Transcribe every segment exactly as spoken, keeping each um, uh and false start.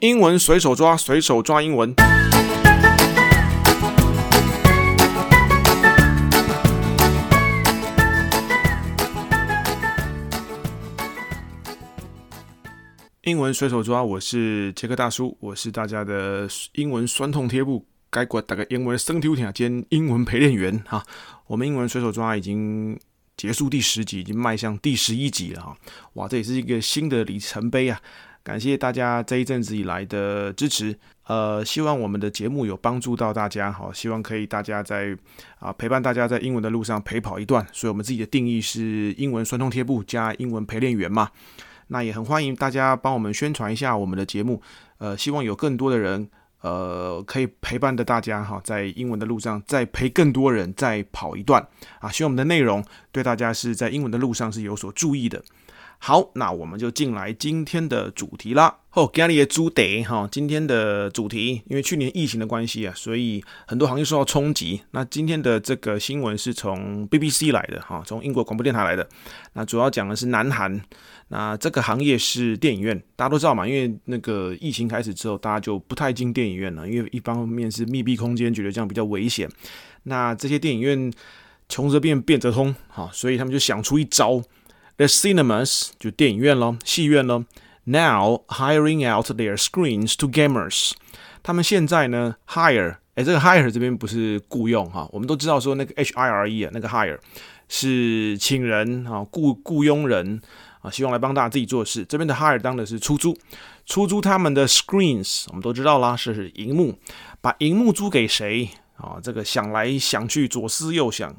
英文隨手抓，隨手抓英文。英文隨手抓，我是傑克大叔，我是大家的英文酸痛貼布，該過大概英文生抽聽兼英文陪練員哈。我們英文隨手抓已經結束第十集，已經邁向第十一集了哈。哇，這也是一個新的里程碑啊！感謝大家這一陣子以來的支持，呃，希望我們的節目有幫助到大家，好，希望可以大家在啊陪伴大家在英文的路上陪跑一段。所以我們自己的定義是英文酸痛貼布加英文陪練員嘛。那也很歡迎大家幫我們宣傳一下我們的節目，呃，希望有更多的人，呃，可以陪伴着大家哈，在英文的路上再陪更多人再跑一段啊。希望我們的內容對大家是在英文的路上是有所注意的。好，那我們就進來今天的主題啦。好，今天的主題哈，今天的主題，因為去年疫情的關係啊，所以很多行業受到衝擊。那今天的這個新聞是從 B B C 來的哈，從英國廣播電台來的。那主要講的是南韓，那這個行業是電影院，大家都知道嘛，因為那個疫情開始之後，大家就不太進電影院了，因為一方面是密閉空間，覺得這樣比較危險。那這些電影院窮則變，變則通，哈，所以他們就想出一招。The cinemas 就電影院咯，戲院咯 Now hiring out their screens to gamers。他們現在呢 hire， 哎，這個 hire 這邊不是僱用哈，我們都知道說那個 H I R E 啊，那個 hire 是請人啊，僱僱傭人啊，希望來幫大家自己做事。這邊的 hire 當的是出租，出租他們的 screens， 我們都知道啦，是熒幕，把熒幕租給誰啊？這個想來想去，左思右想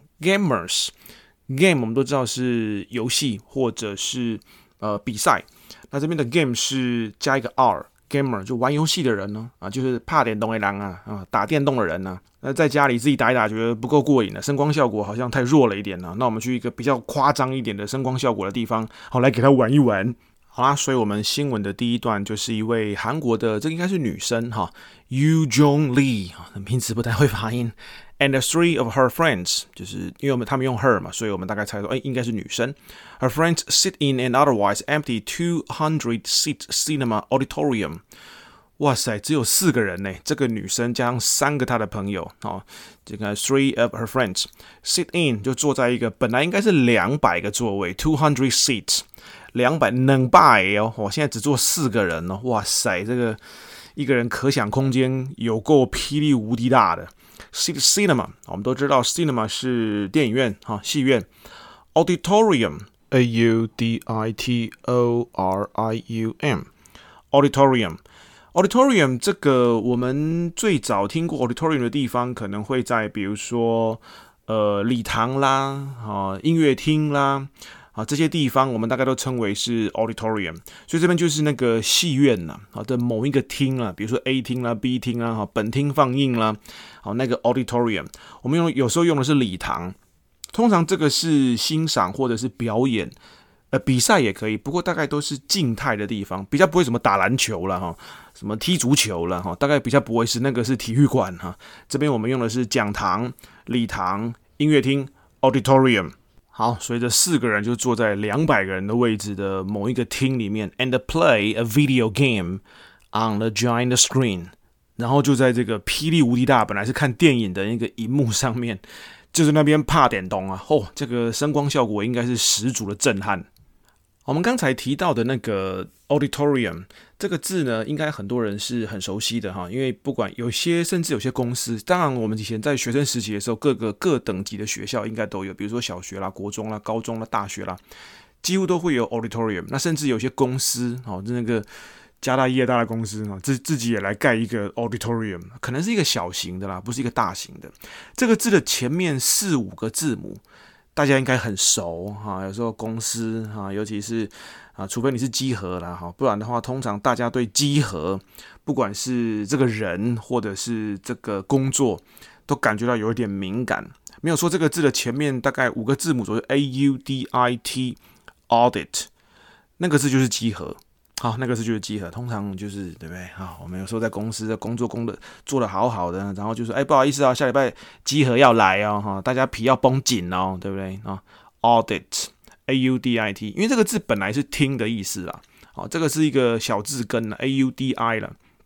，gamers。Game 我們都知道是遊戲或者是呃比賽，那這邊的 game 是加一個 R，gamer 就玩遊戲的人呢啊，就是怕電動的人啊啊，打電動的人呢、啊。那在家裡自己打一打，覺得不夠過癮了，聲光效果好像太弱了一點了。那我們去一個比較誇張一點的聲光效果的地方，好來給他玩一玩。好啦，所以我們新聞的第一段就是一位韓國的，這個應該是女生哈 ，Yoo Jong Lee 名字不太會發音。And three of her friends， 就是因為我們他們用 her 嘛，所以我們大概猜到，哎，應該是女生。Her friends sit in an otherwise empty two hundred seat cinema auditorium。哇塞，只有四個人呢，這個女生加上三個她的朋友，哦，這個 three of her friends sit in 就坐在一個本來應該是兩百個座位 two hundred seats， 兩百兩百哦，我現在只坐四個人哦，哇塞，這個一個人可想空間有夠霹靂無敵大的。Cinema， 我們都知道 cinema 是電影院哈，戲院。Auditorium A U D I T O R I U M Auditorium Auditorium 這個我們最早聽過 Auditorium 的地方，可能會在比如說呃禮堂啦啊音樂廳啦啊這些地方，我們大概都稱為是 Auditorium。所以這邊就是那個戲院吶啊的某一個廳啦，比如說 A 廳啦 B 廳啦哈本廳放映啦。好，那個 auditorium， 我們用有時候用的是禮堂，通常這個是欣賞或者是表演，呃，比賽也可以，不過大概都是靜態的地方，比較不會什麼打籃球啦哈，什麼踢足球啦哈，大概比較不會是那個是體育館哈。這邊我們用的是講堂、禮堂、音樂廳 auditorium。好，所以這四個人就坐在兩百個人的位置的某一個廳裡面 ，and play a video game on the giant screen。然後就在這個霹靂無敵大，本來是看電影的那個熒幕上面，就是那邊怕電動啊！哦，這個聲光效果應該是十足的震撼。我們剛才提到的那個 auditorium 這個字呢，應該很多人是很熟悉的哈，因為不管有些甚至有些公司，當然我們以前在學生時期的時候，各個各等級的學校應該都有，比如說小學啦、國中啦、高中啦、大學啦，幾乎都會有 auditorium。那甚至有些公司哦，那個。家大業大的公司自自己也來蓋一個 auditorium， 可能是一個小型的啦，不是一個大型的。這個字的前面四五個字母，大家應該很熟哈。有時候公司哈，尤其是啊，除非你是稽核啦哈，不然的話，通常大家對稽核，不管是這個人或者是這個工作，都感覺到有一點敏感。沒有說這個字的前面大概五個字母左右 A U D I T audit， 那個字就是稽核。好，那個是就是稽核，通常就是對不對？好，我們有時候在公司的工作工的做得好好的，然後就說，哎，不好意思啊，下禮拜稽核要來哦，哈，大家皮要繃緊哦，對不對啊 ？Audit A U D I T， 因為這個字本來是聽的意思啦，好，這個是一個小字根 A U D I 了，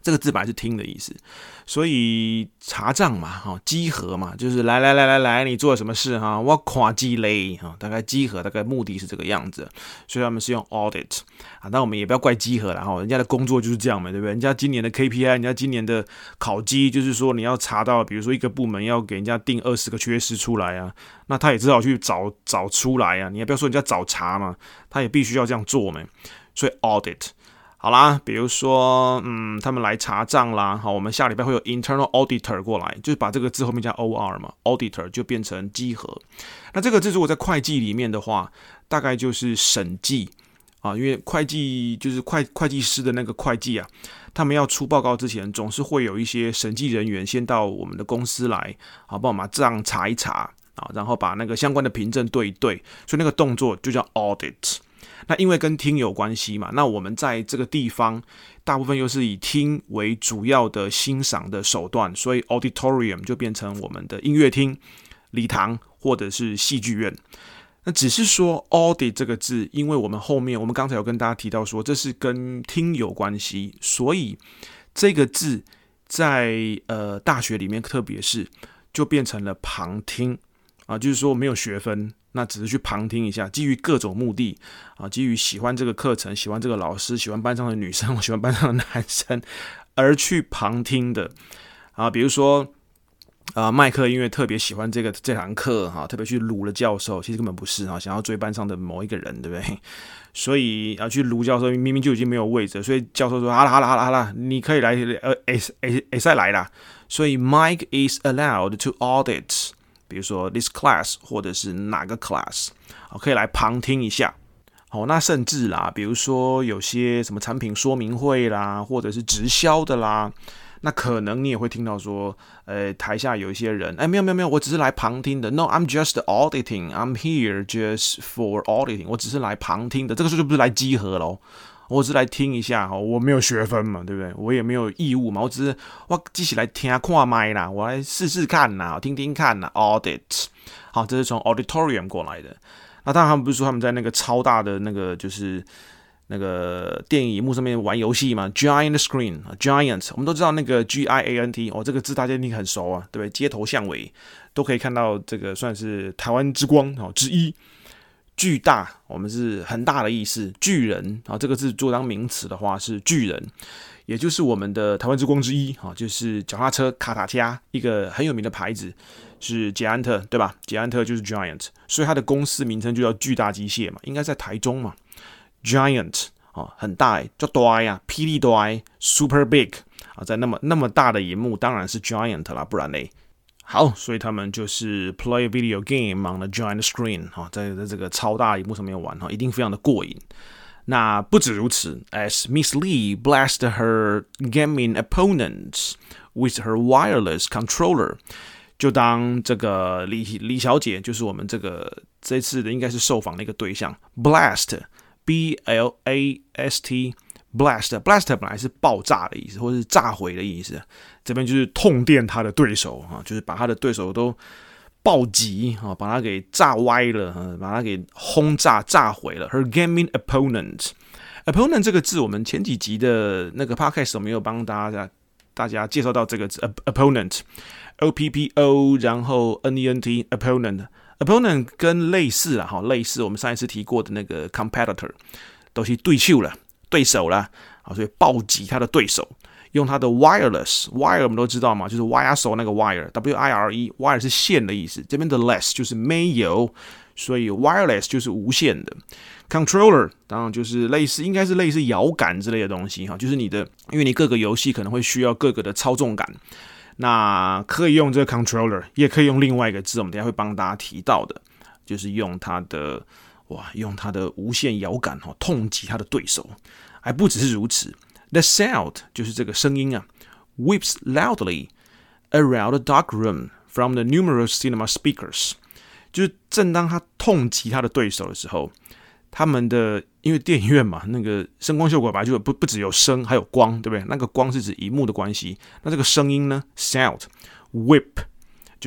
這個字本來是聽的意思，所以查賬嘛，哈，稽核嘛，就是來來來來來，你做了什麼事哈？我看積累哈，大概稽核大概目的是這個樣子，所以他們是用 audit 啊，但我們也不要怪稽核啦哈，人家的工作就是這樣嘛，對不對？人家今年的 K P I， 人家今年的考績就是說你要查到，比如說一個部門要給人家定二十個缺失出來啊，那他也只好去找找出來啊，你也不要說人家找茬嘛，他也必須要這樣做嘛，所以 audit。好啦，比如說，嗯，他們來查賬啦，好，我們下禮拜會有 internal auditor 過來，就是把這個字後面加 or 嘛 ，auditor 就變成稽核。那這個字如果在會計裡面的話，大概就是審計啊，因為會計就是會會計師的那個會計啊，他們要出報告之前，總是會有一些審計人員先到我們的公司來，好，幫我們把賬查一查啊，然後把那個相關的憑證對一對，所以那個動作就叫 audit。那因為跟聽有關係嘛，那我們在這個地方大部分又是以聽為主要的欣賞的手段，所以 auditorium 就變成我們的音樂廳、禮堂或者是戲劇院。那只是說 audit 這個字，因為我們後面我們剛才有跟大家提到說這是跟聽有關係，所以這個字在呃大學裡面特別是就變成了旁聽啊，就是說沒有學分。那只是去旁聽一下，基於各種目的啊，基於喜歡這個課程、喜歡這個老師、喜歡班上的女生、喜歡班上的男生而去旁聽的啊。比如說啊，麥克因為特別喜歡這個這堂課哈，特別去盧了教授，其實根本不是哈，想要追班上的某一個人，對不對？所以要去盧教授，明明就已經沒有位置，所以教授說：“好了好了好了好了，你可以來呃，哎哎哎，再來啦。”所以 Mike is allowed to audit。比如說 this class 或者是哪個 class， 可以來旁聽一下。好，那甚至啦，比如說有些什麼產品說明會啦，或者是直銷的啦，那可能你也會聽到說，呃，台下有一些人，哎，沒有沒有沒有，我只是來旁聽的。No, I'm just auditing. I'm here just for auditing. 我只是來旁聽的。這個時候就不是來稽核咯。我只是來聽一下，我沒有學分嘛，對不對？我也沒有義務嘛，我只是我繼續來聽看麥啦，我來試試看吶，聽聽看吶。Audit， 好，這是從 auditorium 過來的。那當然他們不是說他們在那個超大的那個就是那個電影熒幕上面玩遊戲嘛 ？Giant screen，Giant， 我們都知道那個 G I A N T， 哦，這個字大家一定很熟啊，對不對？街頭巷尾都可以看到，這個算是台灣之光哦之一。巨大，我們是很大的意思。巨人啊，這個字做當名詞的話是巨人，也就是我們的台灣之光之一啊，就是腳踏車卡塔加一個很有名的牌子是捷安特，對吧？捷安特就是 Giant， 所以它的公司名稱就叫巨大機械嘛，應該在台中嘛。Giant 啊，很大哎，叫大呀，霹靂大 ，Super Big 啊，在那麼那麼大的螢幕，當然是 Giant 啦，不然嘞。好，所以他們就是 play a video game on the giant screen 哈，在在這個超大螢幕上面玩哈，一定非常的過癮。那不止如此 ，as Miss Lee blasted her gaming opponents with her wireless controller， 就當這個李李小姐就是我們這個這次的應該是受訪的一個對象 ，blast b l a s t。blast blast 本來是爆炸的意思，或者是炸毀的意思，這邊就是痛電他的對手啊，就是把他的對手都暴擊啊，把他給炸歪了，把他給轟炸炸毀了。Her gaming opponent，opponent opponent 這個字，我們前幾集的那個 podcast 我們有幫大家大家介紹到這個字 opponent，O P P O， 然後 N E N T opponent opponent 跟類似啦，哈，類似我們上一次提過的那個 competitor 都是對手了。對手啦，啊，所以暴擊他的對手，用他的 wireless，wire 我們都知道嘛，就是 wire 手那個 wire，W I R E，wire 是線的意思，這邊的 less 就是沒有，所以 wireless 就是無線的 ，controller 當然就是類似，應該是類似搖桿之類的東西哈，就是你的，因為你各個遊戲可能會需要各個的操縱桿，那可以用這個 controller， 也可以用另外一個字，我們等一下會幫大家提到的，就是用它的。哇！用他的無線搖桿哈，痛擊他的對手，還不只是如此。The sound 就是這個聲音啊 ，whips loudly around the dark room from the numerous cinema speakers。就是正當他痛擊他的對手的時候，他們的因為電影院嘛，那個聲光效果本來就不不只有聲，還有光，對不對？那個光是指熒幕的關係，那這個聲音呢 ，sound whip 就是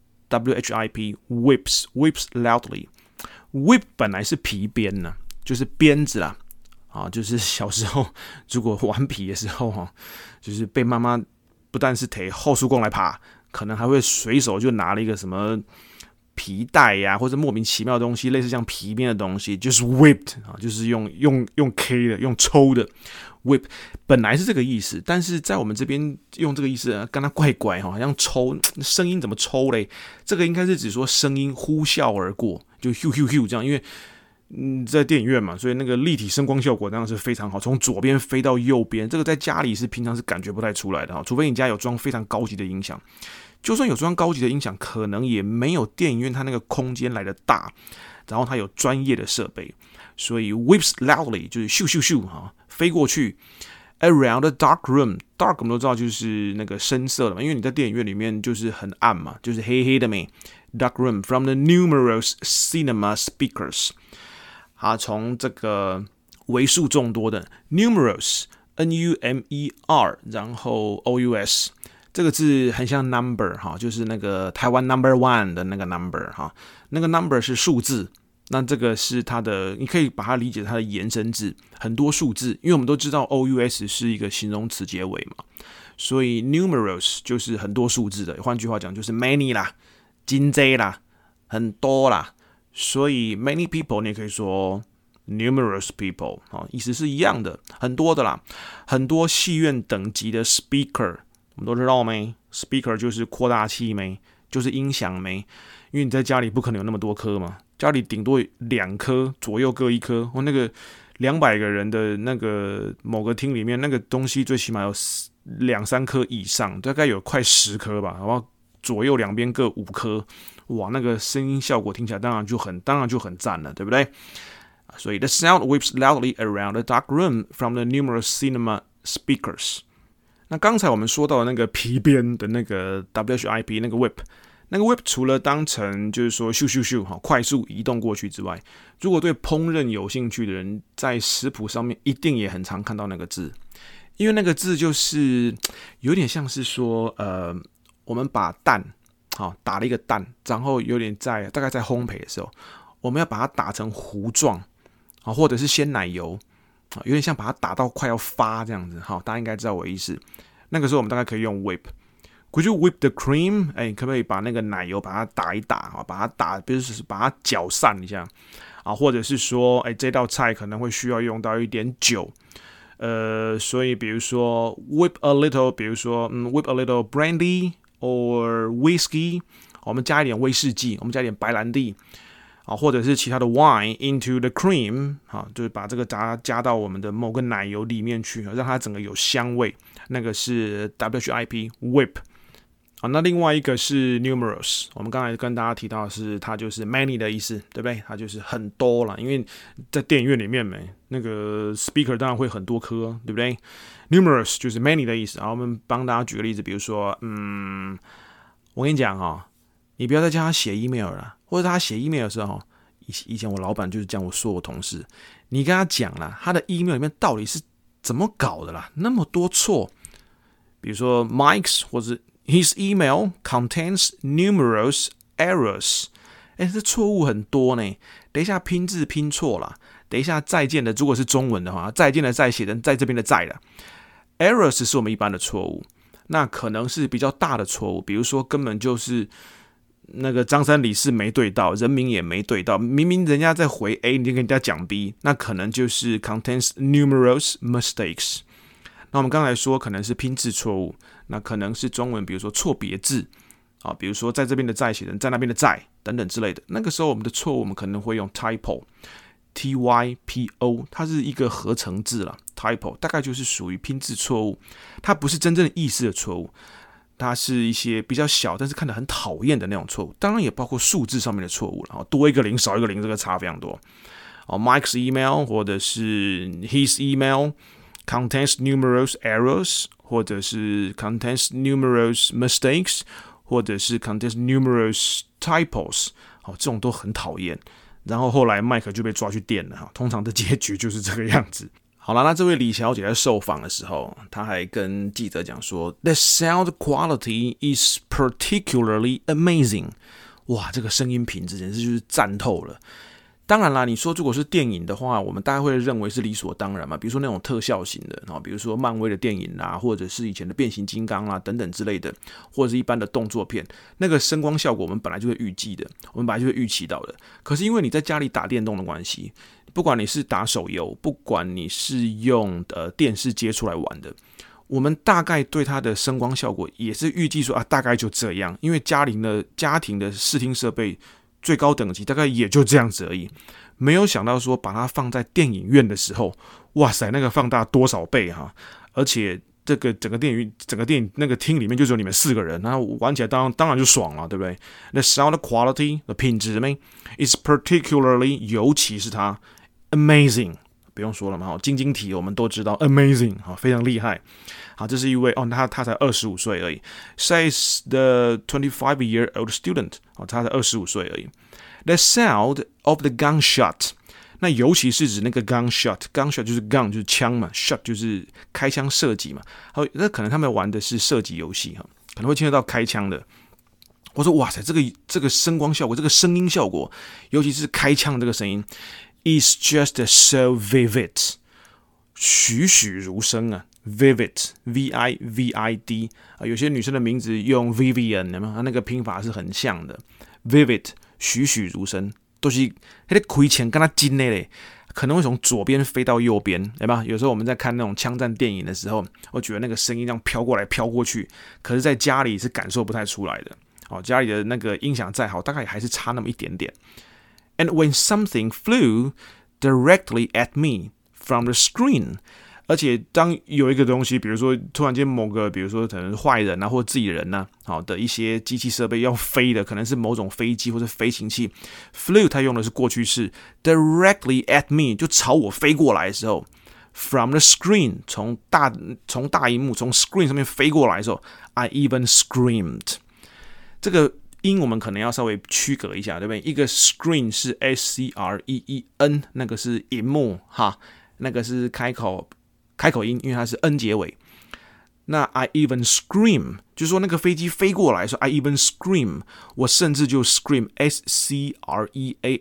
W H I P whips whips loudly。Whip 本來是皮鞭呢，就是鞭子啦， 啊，就是小時候如果頑皮的時候哈，就是被媽媽不但是提後束光來爬，可能還會隨手就拿了一個什麼皮帶呀、啊，或者莫名其妙的東西，類似像皮鞭的東西，就是 whipped 啊，就是用用用 K 的，用抽的 whip， 本來是這個意思，但是在我們這邊用這個意思，跟它怪怪哈，好像抽聲音怎麼抽嘞？這個應該是指說聲音呼嘯而過，就 hu hu hu 這樣，因為。嗯，在電影院嘛，所以那個立體聲光效果當然是非常好，從左邊飛到右邊，這個在家裡是平常是感覺不太出來的哈，除非你家有裝非常高級的音響，就算有裝高級的音響，可能也沒有電影院它那個空間來的大，然後它有專業的設備，所以 whips loudly 就是咻咻咻哈，飛過去 around the dark room，dark 我們都知道就是那個深色的嘛，因為你在電影院裡面就是很暗嘛，就是黑黑的沒 dark room from the numerous cinema speakers。啊，從這個為數眾多的 numerous n u m e r， 然後 o u s 這個字很像 number 哈，就是那個台灣 number one 的那個 number 哈，那個 number 是數字，那這個是它的，你可以把它理解它的延伸字，很多數字，因為我們都知道 o u s 是一個形容詞結尾嘛，所以 numerous 就是很多數字的，換句話講就是 many 啦，真多啦，很多啦。所以 many people 你也可以說 numerous people 意思是一樣的，很多的啦，很多戲院等級的 speaker， 我們都知道沒 ？speaker 就是擴大器沒？就是音響沒？因為你在家裡不可能有那麼多顆嘛，家裡頂多兩顆，左右各一顆。或那個兩百個人的那個某個廳裡面，那個東西最起碼有兩三顆以上，大概有快十顆吧，然後左右兩邊各五顆。哇，那個聲音效果聽起來當然就很，當然就很讚了，對不對？所以 the sound whips loudly around the dark room from the numerous cinema speakers。那剛才我們說到的那個皮鞭的那個 W H I P 那個 whip， 那個 whip 除了當成就是說咻咻咻哈快速移動過去之外，如果對烹飪有興趣的人，在食譜上面一定也很常看到那個字，因為那個字就是有點像是說，呃，我們把蛋。好，打了一個蛋，然後有點在大概在烘焙的時候，我們要把它打成糊狀，啊，或者是鮮奶油，啊，有點像把它打到快要發這樣子。好，大家應該知道我的意思。那個時候我們大概可以用 whip。Could you whip the cream？ 哎，可不可以把那個奶油把它打一打啊？把它打，比如說把它攪散一下啊，或者是說，哎，這道菜可能會需要用到一點酒，呃，所以比如說 whip a little， 比如說嗯 whip a little brandy。or whiskey， 我們加一點威士忌，我們加一點白蘭地，啊，或者是其他的 wine into the cream， 啊，就是把這個加加到我們的某個奶油裡面去，讓它整個有香味，那個是 W H I P whip， 啊，那另外一個是 numerous， 我們剛才跟大家提到的是它就是 many 的意思，對不對？它就是很多啦，因為在電影院裡面沒那個 speaker 當然會很多顆，對不對？Numerous 就是 many 的意思，然後我們幫大家舉個例子，比如說，嗯，我跟你講哈、哦，你不要再叫他寫 email 了，或者他寫 email 的時候，以以前我老闆就是這樣我說我同事，你跟他講啦，他的 email 裡面到底是怎麼搞的啦，那麼多錯，比如說 Mike's 或者 His email contains numerous errors， 哎，這錯誤很多呢，等一下拼字拼錯了，等一下再見的如果是中文的話，再見的再寫成在這邊的在了。Errors 是我們一般的錯誤，那可能是比較大的錯誤，比如說根本就是那個張三李四沒對到，人名也沒對到，明明人家在回 A， 你就跟人家講 B， 那可能就是 contains numerous mistakes。那我們剛才說可能是拼字錯誤，那可能是中文，比如說錯別字啊，比如說在這邊的在寫成在那邊的在等等之類的。那個時候我們的錯誤，我們可能會用 typo。T Y P O， 它是一個合成字啦 typo 大概就是屬於拼字錯誤，它不是真正的意思的錯誤，它是一些比較小，但是看得很討厭的那種錯誤，當然也包括數字上面的錯誤了，多一個零少一個零，這個差非常多。Mike's email 或者是 His email contains numerous errors， 或者是 contains numerous mistakes， 或者是 contains numerous typos， 好，這種都很討厭。然後後來麥克就被抓去電了，通常的結局就是這個樣子。好了，那這位李小姐在受訪的時候，她還跟記者講說 ，The sound quality is particularly amazing。哇，這個聲音品質簡直就是讚透了。 當然啦，你說如果是電影的話，我們大概會認為是理所當然嘛。比如說那種特效型的啊，比如說漫威的電影啦，或者是以前的變形金剛啦等等之類的，或者是一般的動作片，那個聲光效果我們本來就會預計的，我們本來就會預期到的。可是因為你在家裡打電動的關係，不管你是打手遊，不管你是用呃電視接出來玩的，我們大概對它的聲光效果也是預計說啊，大概就這樣。因為家庭的家庭的視聽設備最高等級大概也就這樣子而已，沒有想到說把它放在電影院的時候，哇塞，那個放大多少倍哈！而且這個整個電影整個電影那個廳裡面就只有你們四個人，然後玩起來當然當然就爽了，對不對？ The sound quality 的品質呢 is particularly 尤其是它 amazing， 不用說了嘛，晶晶體我們都知道 amazing 非常厲害。好，這是一位哦，他他才二十五歲而已。Says the twenty-five-year-old student， 哦，他才二十五歲而已。The sound of the gunshot， 那尤其是指那個 gunshot，gunshot 就是 gun 就是槍嘛 ，shot 就是開槍射擊嘛。好，那可能他們玩的是射擊遊戲哈，可能會聽得到開槍的。我說哇塞，這個這個聲光效果，這個聲音效果，尤其是開槍的這個聲音 ，is just so vivid， 栩栩如生啊。Vivid, V I V I D 啊，有些女生的名字用 Vivian， 有沒有？它那個拼法是很像的。Vivid， 栩栩如生，都是那個開槍跟它近的嘞，可能會從左邊飛到右邊，對吧？有時候我們在看那種槍戰電影的時候，我覺得那個聲音這樣飄過來飄過去，可是在家裡是感受不太出來的。哦，家裡的那個音響再好，大概還是差那麼一點點。And when something flew directly at me from the screen，而且當有一個東西，比如說突然間某個，比如說可能是壞人啊，或自己人啊，好的一些機器設備要飛的，可能是某種飛機或者飛行器 ，flew 它用的是過去式 ，directly at me 就朝我飛過來的時候 ，from the screen 從大從大螢幕從 screen 上面飛過來的時候 ，I even screamed。這個音我們可能要稍微區隔一下，對不對？一個 screen 是 S C R E E N， 那個是螢幕哈，那個是開口。開口音，因為它是 n 結尾。那 I even scream， 就是說那個飛機飛過來說 I even scream， 我甚至就 scream S C R E A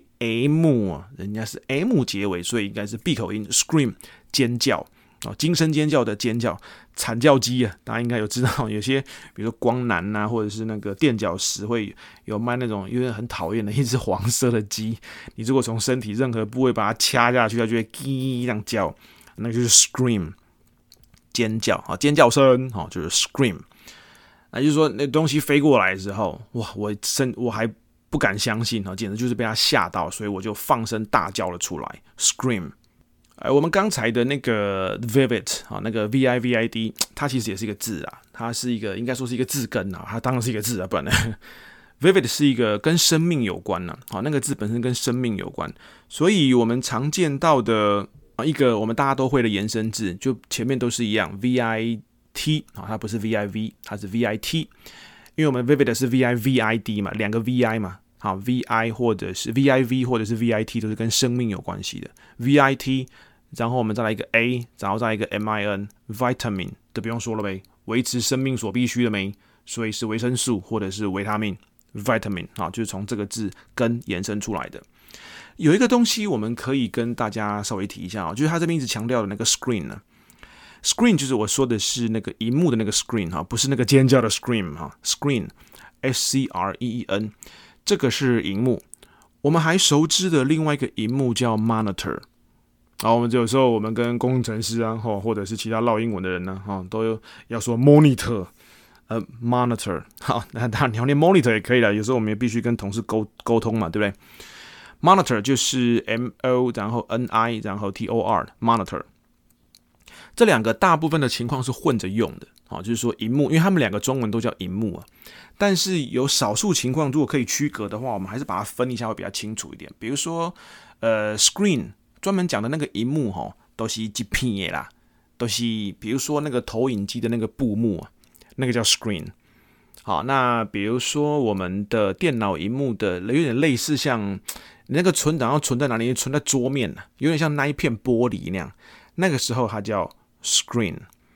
M， 人家是 M 結尾，所以應該是閉口音 scream 尖叫啊，驚聲尖叫的尖叫，慘叫雞啊！大家應該有知道，有些比如說光南啊，或者是那個墊腳石會有賣那種，因為很討厭的一隻黃色的雞，你如果從身體任何部位把它掐下去，它就會嘰這樣叫。那就是 scream， 尖叫啊，尖叫聲啊，就是 scream。那就是說，那東西飛過來的時候，哇，我真我還不敢相信啊，簡直就是被它嚇到，所以我就放聲大叫了出來 ，scream。哎，我們剛才的那個 vivid 啊，那個 V I V I D， 它其實也是一個字啊，它是一個應該說是一個字根啊，它當然是一個字啊，不然呢 ，vivid 是一個跟生命有關啊，好，那個字本身跟生命有關，所以我們常見到的。一個我們大家都會的延伸字，就前面都是一樣 V I T 啊，它不是 V I V， 它是 V I T， 因為我們 vivid 是 V I V I D 嘛，兩個 V I 嘛，好 V I 或者是 V I V 或者是 V I T 都是跟生命有關係的 V I T， 然後我們再來一個 A， 然後再來一個 M I N vitamin， 都不用說了唄，維持生命所必須的酶，所以是維生素或者是維他命 vitamin 啊，就是從這個字根延伸出來的。有一個東西我們可以跟大家稍微提一下，就是他這邊一直強調的那個 screen 呢 ，screen 就是我說的是那個螢幕的那個 screen 哈，不是那個尖叫的 scream 哈 ，screen S C R E E N， 這個是螢幕。我們還熟知的另外一個螢幕叫 monitor， 好，我們有時候我們跟工程師啊，或者是其他烙英文的人呢，哈，都要說 monitor， 呃 monitor， 好，那當然你要念 monitor 也可以了，有時候我們也必須跟同事溝溝通嘛，對不對？Monitor 就是 M O 然後 N I 然後 T O R monitor， 這兩個大部分的情況是混着用的，好，就是說螢幕，因為他們兩個中文都叫螢幕啊，但是有少數情況如果可以區隔的話，我們還是把它分一下會比較清楚一點。比如說，呃 ，screen 專門講的那個螢幕哈，都是一片的啦，都是比如說那個投影機的那個布幕啊，那個叫 screen。好，那比如說我們的電腦螢幕的有點類似像。你那個存檔要存在哪裡？存在桌面，有點像那一片玻璃那樣。那個時候它叫 screen。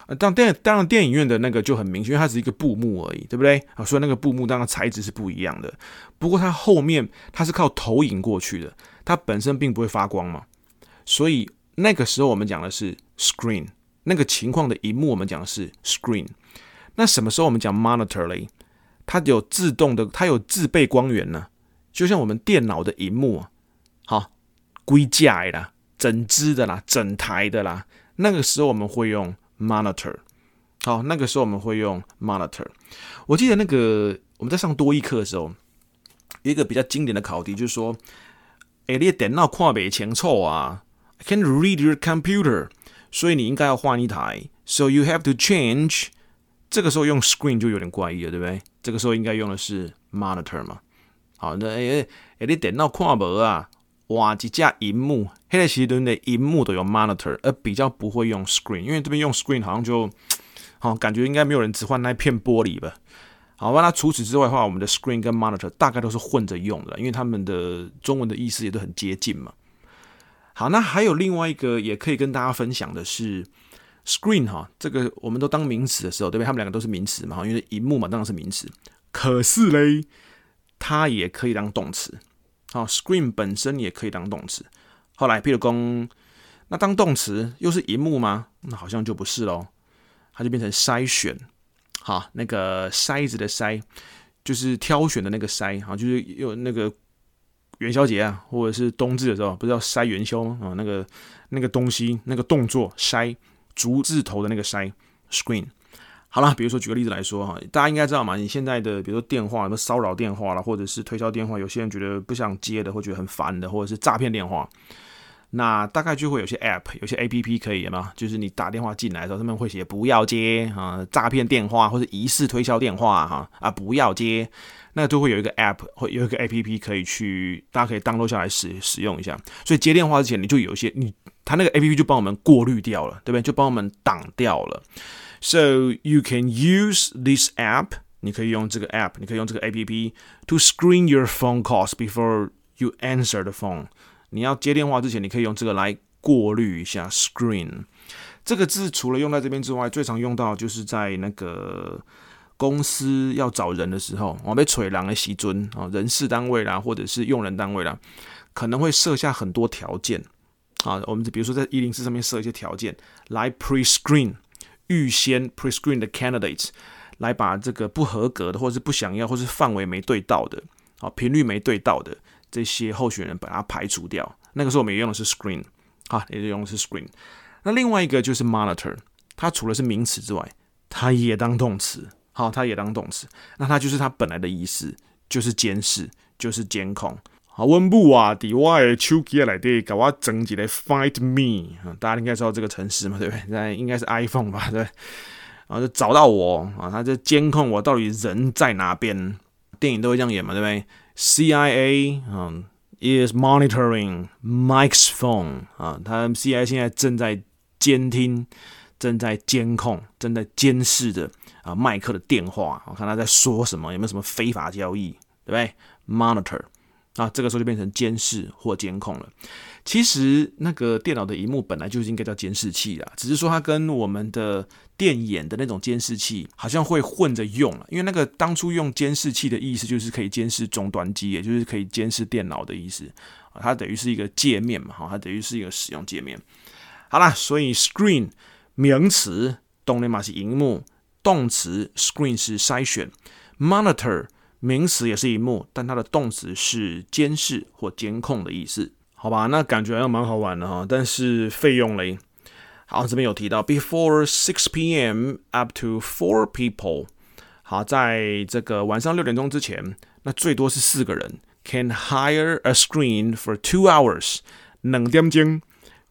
當電當然電影院的那個就很明確，因為它只是一個布幕而已，對不對？啊，所以那個布幕當然材質是不一樣的。不過它後面它是靠投影過去的，它本身並不會發光嘛。所以那個時候我們講的是 screen， 那個情況的螢幕我們講的是 screen。那什麼時候我們講 monitor 嘞？它有自動的，它有自備光源呢、啊，就像我們電腦的螢幕啊，好，規架的啦，整支的啦，整台的啦，那個時候我們會用 monitor。好，那個時候我們會用 monitor。我記得那個我們在上多益課的時候，有一個比較經典的考題，就是說，哎，你的電腦看不清楚啊 ，I can't read your computer， 所以你應該要換一台 ，so you have to change。這個時候用 screen 就有點怪異了，對不對？這個時候應該用的是 monitor 嘛。好，那哎哎，你電腦看不啊？哇，一架螢幕，那個時陣的螢幕都有 monitor， 而比較不會用 screen， 因為這邊用 screen 好像就。好，感覺應該沒有人只換那片玻璃吧。好吧，那除此之外的話，我們的 screen 跟 monitor 大概都是混着用的，因為他們的中文的意思也都很接近嘛。好，那還有另外一個也可以跟大家分享的是 screen 哈，這個我們都當名詞的時候，對不對？他們兩個都是名詞嘛，因為螢幕嘛，當然是名詞。可是嘞，它也可以當動詞。好 ，screen 本身也可以當動詞。後來，譬如說，那當動詞又是螢幕嗎？那好像就不是咯。它就變成篩選，好，那個篩子的篩，就是挑選的那個篩，好，就是有那個元宵節啊，或者是冬至的時候，不是要篩元宵嗎？啊，那個那個東西，那個動作篩，竹字頭的那個篩 ，screen。好啦，比如說舉個例子來說哈，大家應該知道嘛，你現在的比如說電話，什麼騷擾電話啦，或者是推銷電話，有些人覺得不想接的，或覺得很煩的，或者是詐騙電話。那大概就會有些 App， 有些 A P P 可以嘛，就是你打電話進來的時候，他們會寫不要接啊，詐騙電話或者疑似推銷電話哈啊，不要接，那就會有一個 App， 會有一個 A P P 可以去，大家可以 download 下來使使用一下。所以接電話之前，你就有一些你，他那個 A P P 就幫我們過濾掉了，對不對？就幫我們擋掉了。So you can use this app， 你可以用這個 App， 你可以用這個 A P P to screen your phone calls before you answer the phone。你要接電話之前，你可以用這個來過濾一下 screen 這個字。除了用在這邊之外，最常用到就是在那個公司要找人的時候，我被找人的時候，人事單位啦，或者是用人單位啦，可能會設下很多條件啊。我們比如說在一零四上面設一些條件來 pre-screen， 預先 pre-screen 的 candidates， 來把這個不合格的，或者是不想要，或是範圍沒對到的，啊，頻率沒對到的。這些候選人把它排除掉，那個時候我們也用的是 screen， 啊，也用的是 screen。那另外一個就是 monitor， 它除了是名詞之外，它也當動詞，好，它也當動詞。那它就是它本來的意思，就是監視，就是監控。好，溫布啊，在我的手機內底給我整一個 Find Me， 大家應該知道這個程式嘛，對不對？那應該是 iPhone 吧，對。然後就找到我啊，它就監控我到底人在哪邊。電影都會這樣演嘛，對不對？C I A 嗯 is monitoring Mike's phone 啊，他 C I A 現在正在監聽、正在監控、正在監視着啊麥克的電話，我看他在說什麼，有沒有什麼非法交易，對不對 ？Monitor 啊，這個時候就變成監視或監控了。其實那個電腦的螢幕本來就是應該叫監視器啦，只是說它跟我們的電眼的那種監視器好像會混着用了，因為那個當初用監視器的意思就是可以監視終端機，也就是可以監視電腦的意思，它等於是一個界面嘛，它等於是一個使用界面。好啦，所以 screen 名詞當然嘛是螢幕，動詞 screen 是篩選 ，monitor 名詞也是螢幕，但它的動詞是監視或監控的意思。好吧，那感覺好像蠻好玩的哈，但是費用嘞，好，這邊有提到 before six p.m. up to four people， 好，在這個晚上六點鐘之前，那最多是四個人 can hire a screen for two hours， 兩點鐘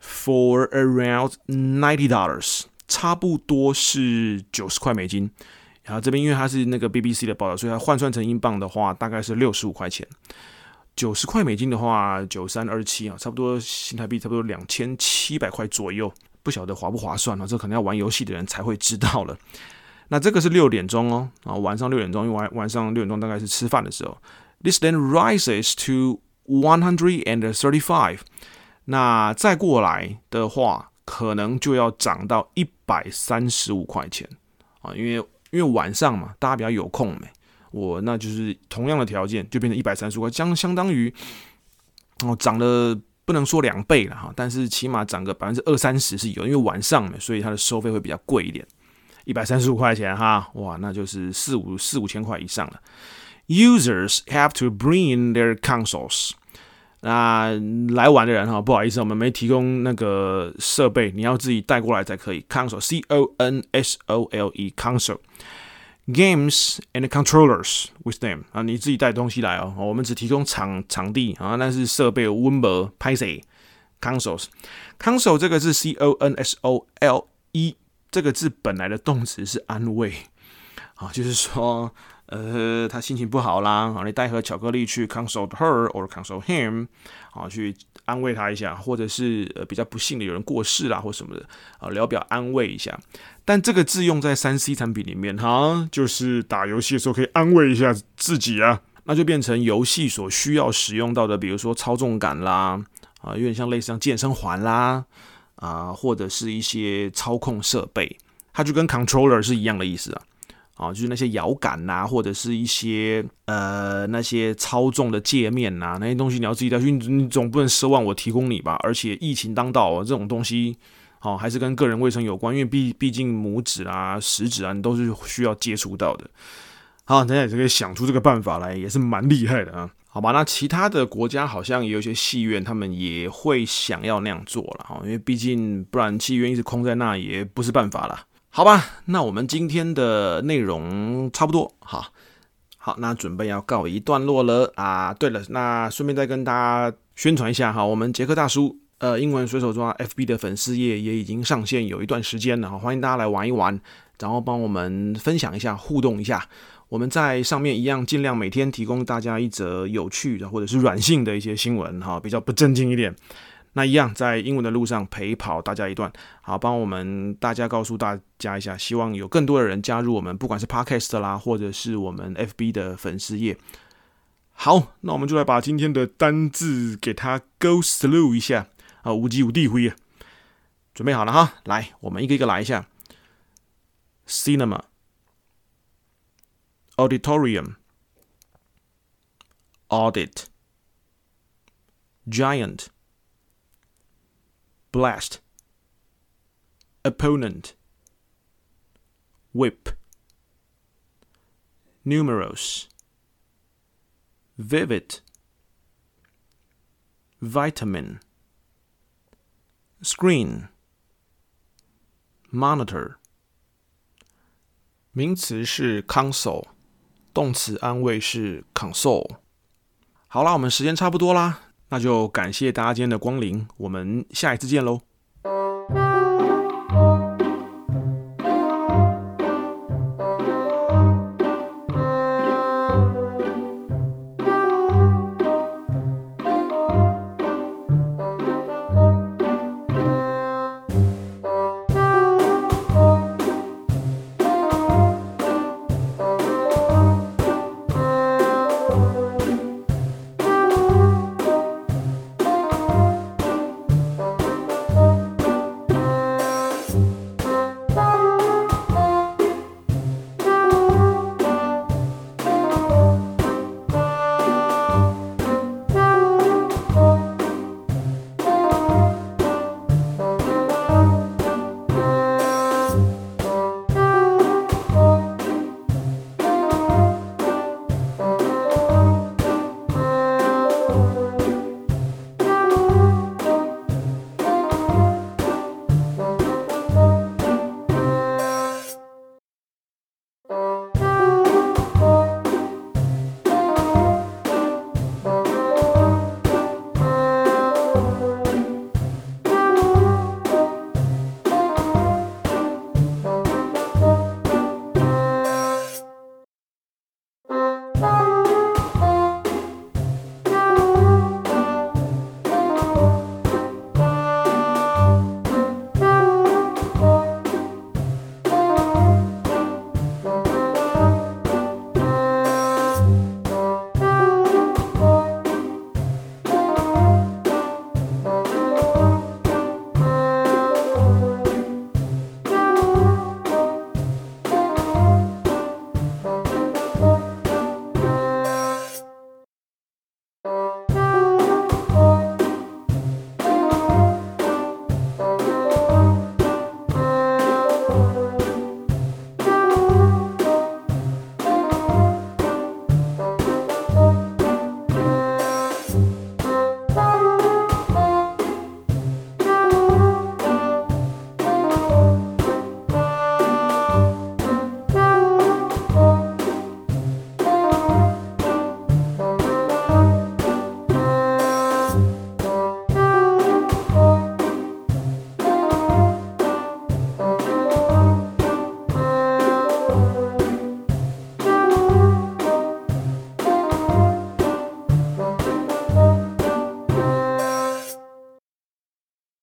for around ninety dollars， 差不多是九十塊美金。然後這邊因為它是那個 B B C 的報道，所以它換算成英鎊的話，大概是六十五塊錢。九十塊美金的話，九三二七啊，差不多新台幣差不多兩千七百塊左右，不曉得划不划算啊？這可能要玩遊戲的人才會知道了。那這個是六點鐘哦，啊，晚上六點鐘，因為晚晚上六點鐘大概是吃飯的時候。This then rises to one hundred thirty-five。那再過來的話， 可能就要漲到一百三十五塊錢啊，因為因為晚上嘛，大家比較有空沒，我那就是同樣的條件就變成一百三十五塊，相相當於哦漲了不能說兩倍了哈，但是起碼漲個百分之二三十是有，因為晚上嘛，所以它的收費會比較貴一點，一百三十五塊錢哈，哇，那就是四五四五千塊以上了。Users have to bring in their consoles。那來玩的人哈，不好意思，我們沒提供那個設備，你要自己帶過來才可以。Console, C O N S O L E, console. Games and controllers with them 啊，你自己帶東西來哦。我們只提供場場地啊，但是設備溫博拍誰 ？Consoles, console 這個字 C O N S O L E 這個字本來的動詞是安慰啊，就是說。呃，他心情不好啦，你帶盒巧克力去 console her or console him， 啊，去安慰他一下，或者是呃比較不幸的有人過世啦或什麼的，啊，聊表安慰一下。但這個字用在 三 C 產品裡面，哈，就是打遊戲的時候可以安慰一下自己啊，那就變成遊戲所需要使用到的，比如說操縱桿啦，啊，有點像類似像健身環啦，啊，或者是一些操控設備，它就跟 controller 是一樣的意思啊。啊，就是那些搖桿吶，或者是一些呃那些操縱的界面吶，那些東西你要自己帶去，你總不能奢望我提供你吧？而且疫情當道，這種東西，哦，還是跟個人衛生有關，因為畢畢竟拇指啊、食指啊，你都是需要接觸到的。好，大家也可以想出這個辦法來，也是蠻厲害的啊。好吧，那其他的國家好像也有一些戲院，他們也會想要那樣做了，因為畢竟不然戲院一直空在那也不是辦法啦。好吧，那我們今天的內容差不多，好，好，那準備要告一段落了啊。對了，那順便再跟大家宣傳一下哈，我們傑克大叔呃英文隨手抓 F B 的粉絲頁也已經上線有一段時間了，歡迎大家來玩一玩，然後幫我們分享一下，互動一下。我們在上面一樣盡量每天提供大家一則有趣的或者是軟性的一些新聞哈，比較不正經一點。那一樣在英文的路上陪跑大家一段，好，幫我們大家告訴大家一下，希望有更多的人加入我們，不管是 Podcast 啦，或者是我們 F B 的粉絲頁。好，那我們就來把今天的單字給它 go through 一下啊，無極無地灰啊，準備好了哈，來，我們一個一個來一下 ：cinema、auditorium、audit、giant、blast, opponent, whip, numerous, vivid, vitamin, screen, monitor。名詞是 console， 動詞安慰是 console。好啦，我們時間差不多啦。那就感謝大家今天的光臨，我們下一次見嘍。